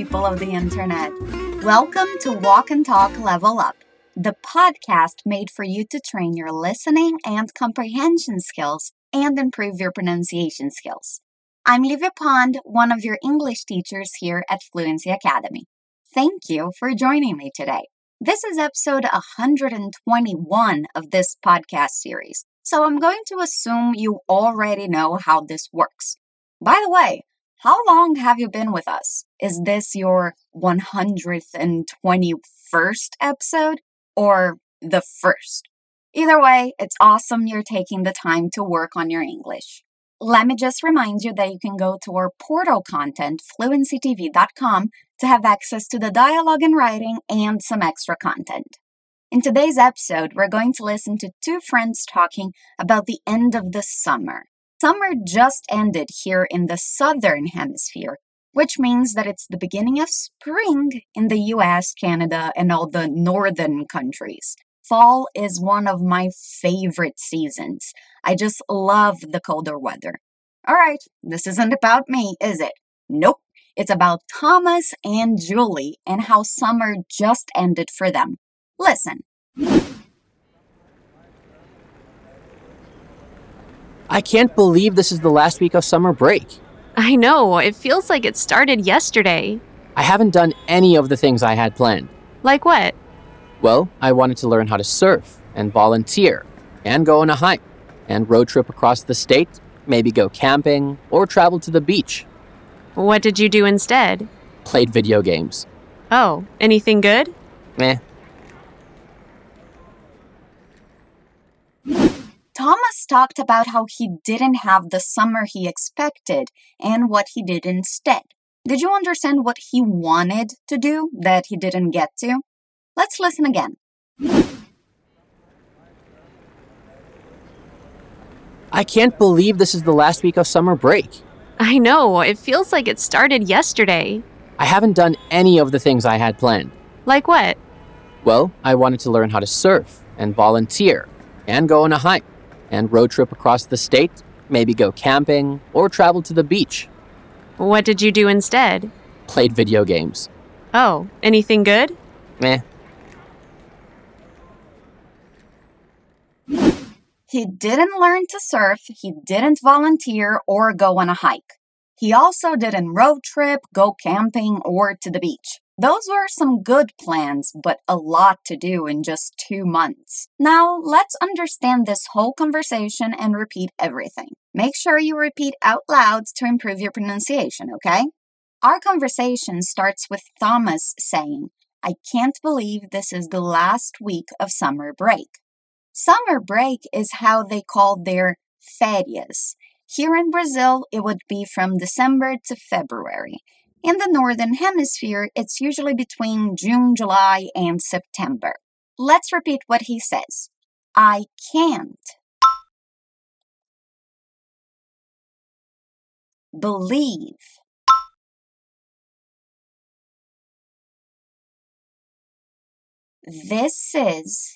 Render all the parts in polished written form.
people of the internet. Welcome to Walk and Talk Level Up, the podcast made for you to train your listening and comprehension skills and improve your pronunciation skills. I'm Livia Pond, one of your English teachers here at Fluency Academy. Thank you for joining me today. This is episode 121 of this podcast series, so I'm going to assume you already know how this works. By the way, how long have you been with us? Is this your 121st episode or the first? Either way, it's awesome you're taking the time to work on your English. Let me just remind you that you can go to our portal content, fluencytv.com, to have access to the dialogue and writing and some extra content. In today's episode, we're going to listen to two friends talking about the end of the summer. Summer just ended here in the southern hemisphere, which means that it's the beginning of spring in the US, Canada, and all the northern countries. Fall is one of my favorite seasons. I just love the colder weather. All right, this isn't about me, is it? Nope. It's about Thomas and Julie and how summer just ended for them. Listen. I can't believe this is the last week of summer break. I know, it feels like it started yesterday. I haven't done any of the things I had planned. Like what? Well, I wanted to learn how to surf and volunteer and go on a hike and road trip across the state, maybe go camping or travel to the beach. What did you do instead? Played video games. Oh, anything good? Meh. Thomas talked about how he didn't have the summer he expected and what he did instead. Did you understand what he wanted to do that he didn't get to? Let's listen again. I can't believe this is the last week of summer break. I know, it feels like it started yesterday. I haven't done any of the things I had planned. Like what? Well, I wanted to learn how to surf and volunteer and go on a hike and road trip across the state, maybe go camping or travel to the beach. What did you do instead? Played video games. Oh, anything good? Meh. He didn't learn to surf, he didn't volunteer or go on a hike. He also didn't road trip, go camping, or to the beach. Those were some good plans, but a lot to do in just 2 months. Now, let's understand this whole conversation and repeat everything. Make sure you repeat out loud to improve your pronunciation, okay? Our conversation starts with Thomas saying, "I can't believe this is the last week of summer break." Summer break is how they call their férias. Here in Brazil, it would be from December to February. In the Northern Hemisphere, it's usually between June, July, and September. Let's repeat what he says. I can't believe this is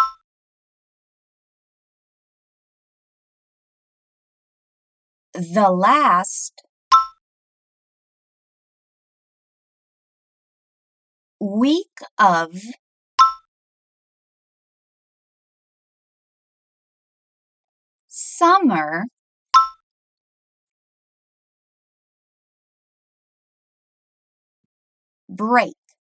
the last week of summer break.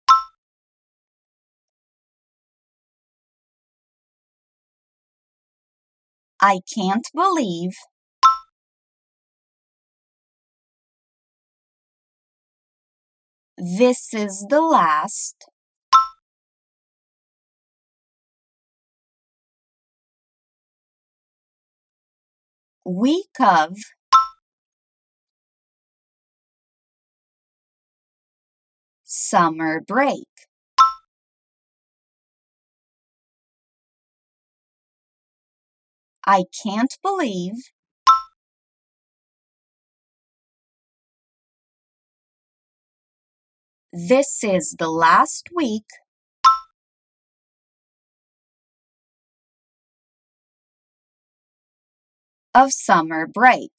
I can't believe this is the last week of summer break. I can't believe this is the last week of summer break.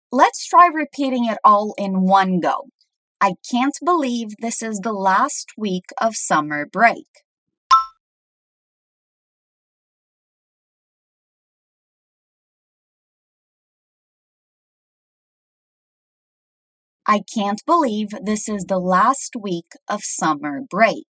Let's try repeating it all in one go. I can't believe this is the last week of summer break. I can't believe this is the last week of summer break.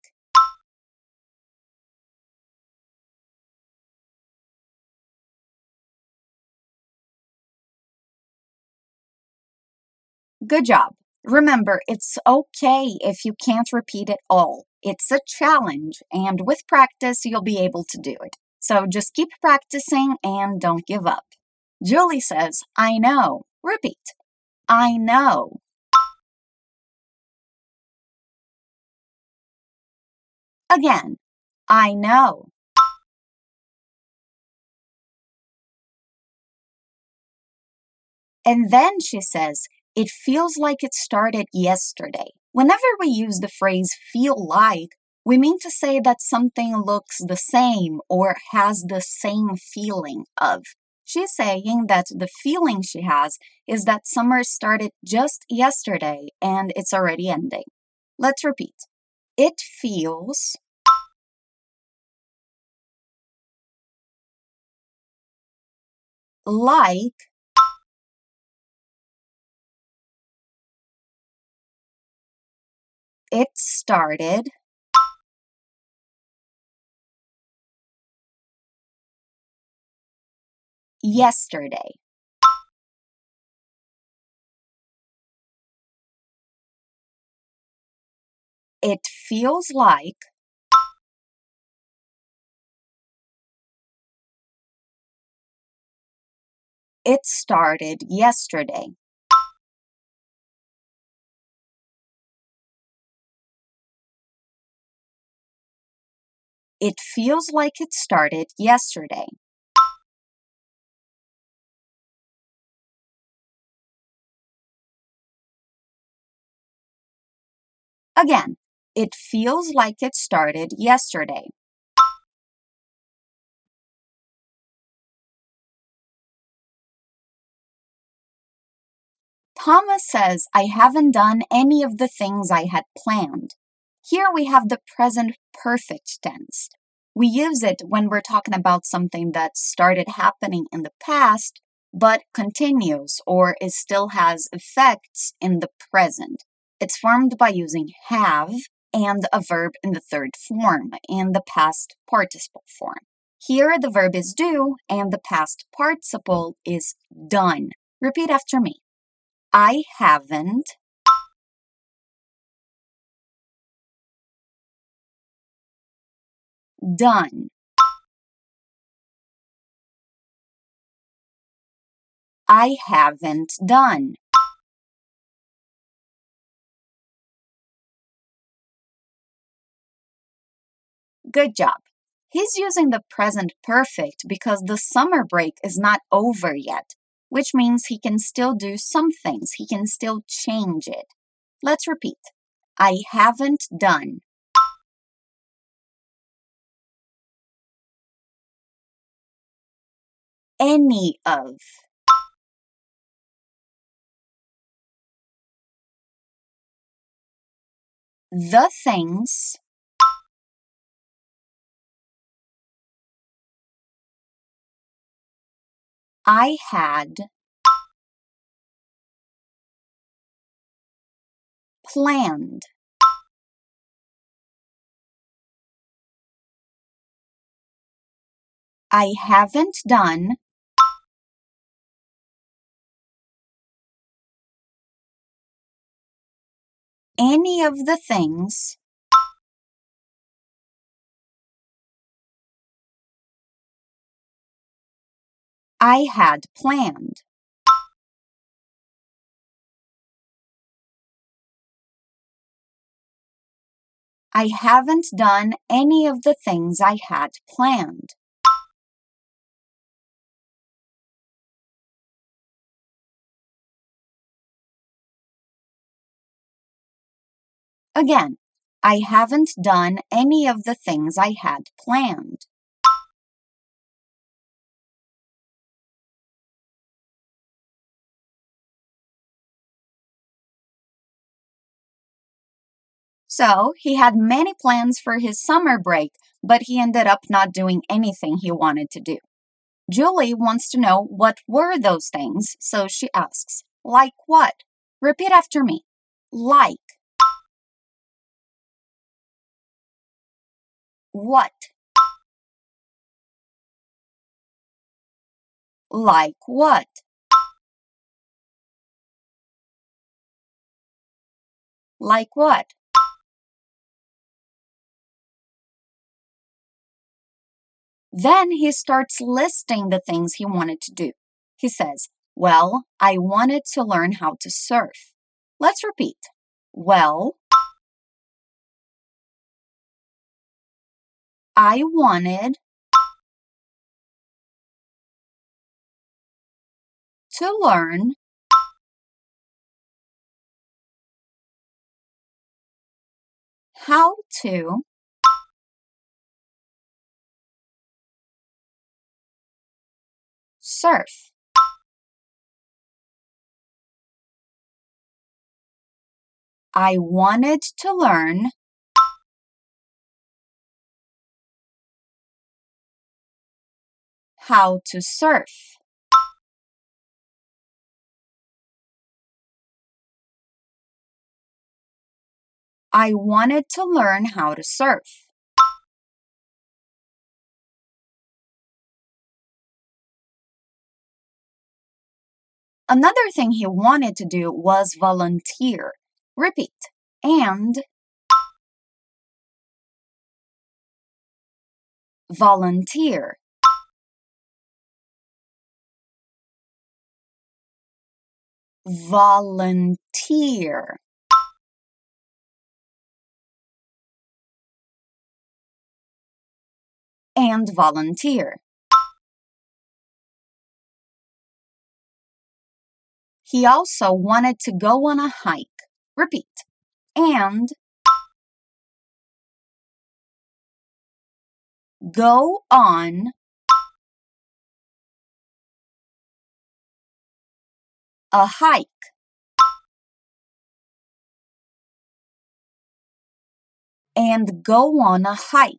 Good job. Remember, it's okay if you can't repeat it all. It's a challenge, and with practice, you'll be able to do it. So just keep practicing and don't give up. Julie says, I know. Repeat. I know. Again, I know. And then she says, it feels like it started yesterday. Whenever we use the phrase feel like, we mean to say that something looks the same or has the same feeling of. She's saying that the feeling she has is that summer started just yesterday and it's already ending. Let's repeat. It feels like it started yesterday. It feels like it started yesterday. It feels like it started yesterday. Again, it feels like it started yesterday. Thomas says, I haven't done any of the things I had planned. Here we have the present perfect tense. We use it when we're talking about something that started happening in the past, but continues or it still has effects in the present. It's formed by using have and a verb in the third form, in the past participle form. Here the verb is do and the past participle is done. Repeat after me. I haven't done. I haven't done. Good job. He's using the present perfect because the summer break is not over yet, which means he can still do some things. He can still change it. Let's repeat. I haven't done. Any of. The things I had planned. I haven't done any of the things I had planned. I haven't done any of the things I had planned. Again, I haven't done any of the things I had planned. So he had many plans for his summer break, but he ended up not doing anything he wanted to do. Julie wants to know what were those things, so she asks, like what? Repeat after me. Like. What? Like what? Like what? Then he starts listing the things he wanted to do. He says, well, I wanted to learn how to surf. Let's repeat. Well, I wanted to learn how to surf. I wanted to learn how to surf. I wanted to learn how to surf. Another thing he wanted to do was volunteer. Repeat. And volunteer. Volunteer. And volunteer. He also wanted to go on a hike. Repeat. And go on a hike. And go on a hike.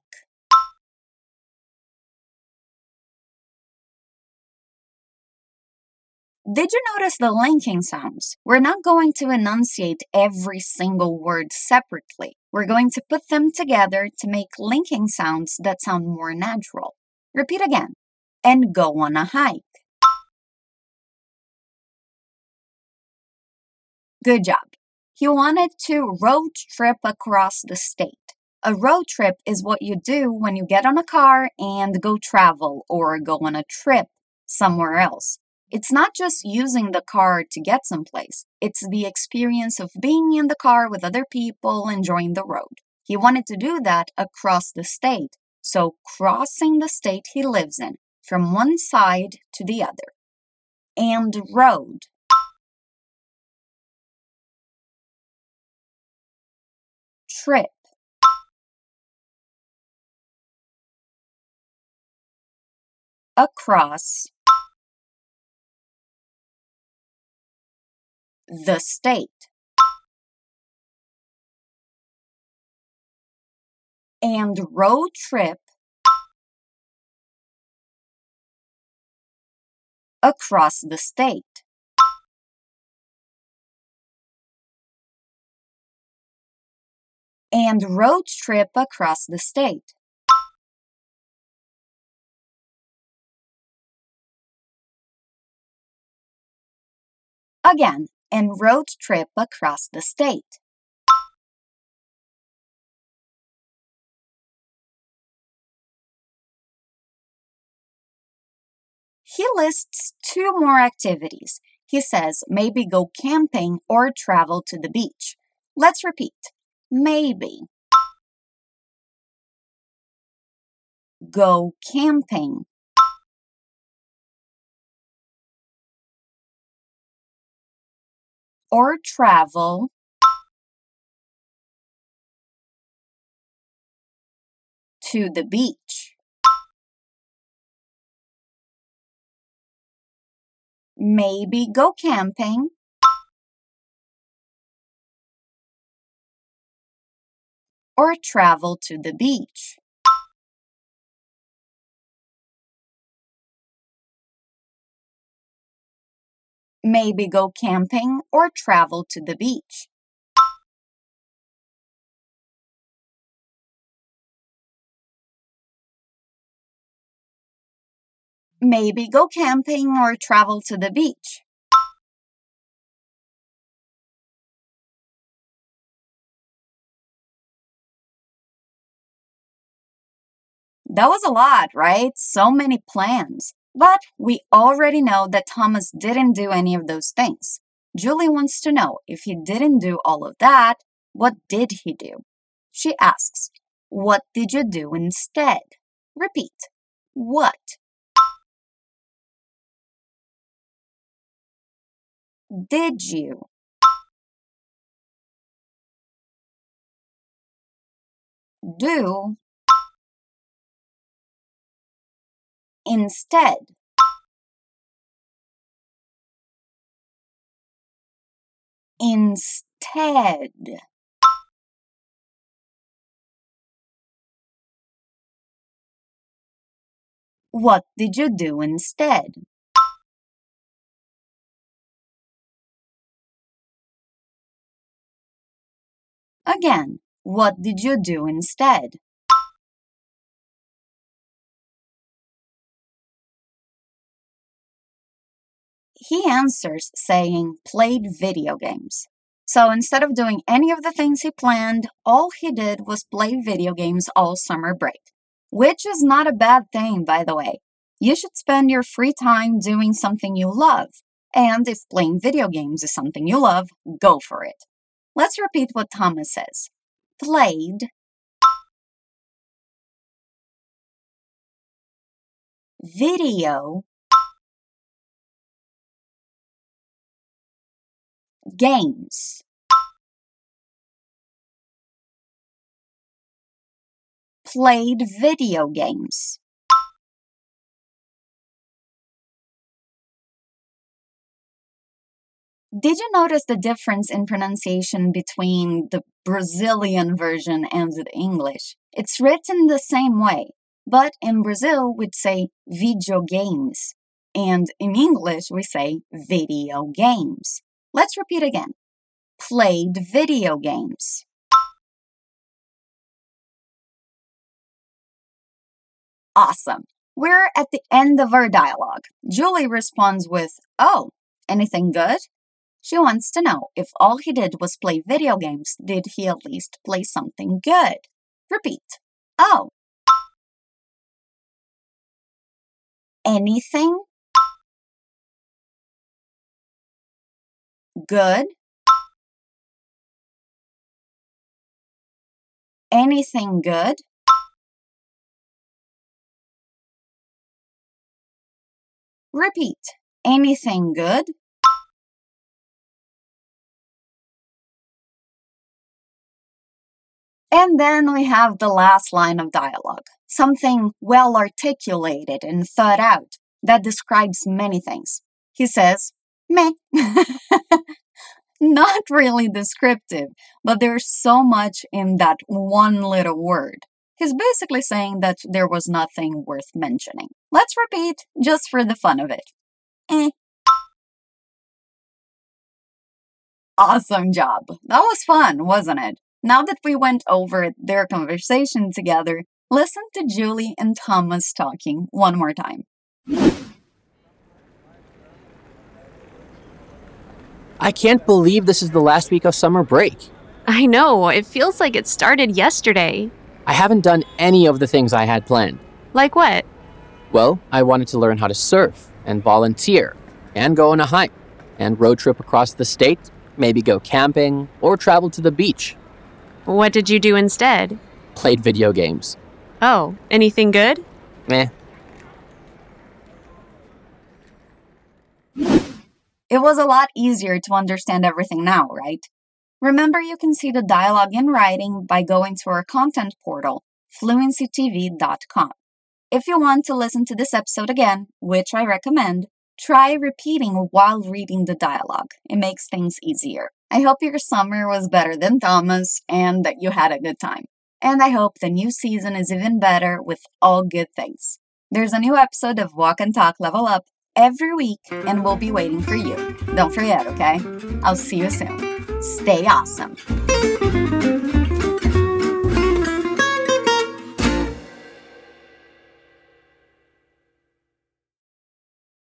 Did you notice the linking sounds? We're not going to enunciate every single word separately. We're going to put them together to make linking sounds that sound more natural. Repeat again. And go on a hike. Good job. He wanted to road trip across the state. A road trip is what you do when you get on a car and go travel or go on a trip somewhere else. It's not just using the car to get someplace. It's the experience of being in the car with other people enjoying the road. He wanted to do that across the state, so crossing the state he lives in from one side to the other. And road. Trip. Across the state. And road trip across the state. And road trip across the state. Again, and road trip across the state. He lists two more activities. He says maybe go camping or travel to the beach. Let's repeat. Maybe. Go camping. Or travel to the beach. Maybe go camping or travel to the beach. Maybe go camping or travel to the beach. Maybe go camping or travel to the beach. That was a lot, right? So many plans. But we already know that Thomas didn't do any of those things. Julie wants to know if he didn't do all of that, what did he do? She asks, what did you do instead? Repeat. What? Did you? Do? Instead? Instead. What did you do instead? Again, what did you do instead? He answers saying played video games. So instead of doing any of the things he planned, all he did was play video games all summer break. Which is not a bad thing, by the way. You should spend your free time doing something you love. And if playing video games is something you love, go for it. Let's repeat what Thomas says. Played video games. Played video games. Did you notice the difference in pronunciation between the Brazilian version and the English? It's written the same way, but in Brazil we'd say videogames, and in English we say video games. Let's repeat again. Played video games. Awesome. We're at the end of our dialogue. Julie responds with, "Oh, anything good?" She wants to know if all he did was play video games, did he at least play something good? Repeat. Oh. Anything good? Anything good? Repeat. Anything good? And then we have the last line of dialogue, something well articulated and thought out that describes many things. He says, meh. Not really descriptive, but there's so much in that one little word. He's basically saying that there was nothing worth mentioning. Let's repeat, just for the fun of it. Eh. Awesome job. That was fun, wasn't it? Now that we went over their conversation together, listen to Julie and Thomas talking one more time. I can't believe this is the last week of summer break. I know, it feels like it started yesterday. I haven't done any of the things I had planned. Like what? Well, I wanted to learn how to surf and volunteer and go on a hike and road trip across the state, maybe go camping or travel to the beach. What did you do instead? Played video games. Oh, anything good? Meh. It was a lot easier to understand everything now, right? Remember, you can see the dialogue in writing by going to our content portal, fluencytv.com. If you want to listen to this episode again, which I recommend, try repeating while reading the dialogue. It makes things easier. I hope your summer was better than Thomas and that you had a good time. And I hope the new season is even better with all good things. There's a new episode of Walk and Talk Level Up every week, and we'll be waiting for you. Don't forget, okay? I'll see you soon. Stay awesome.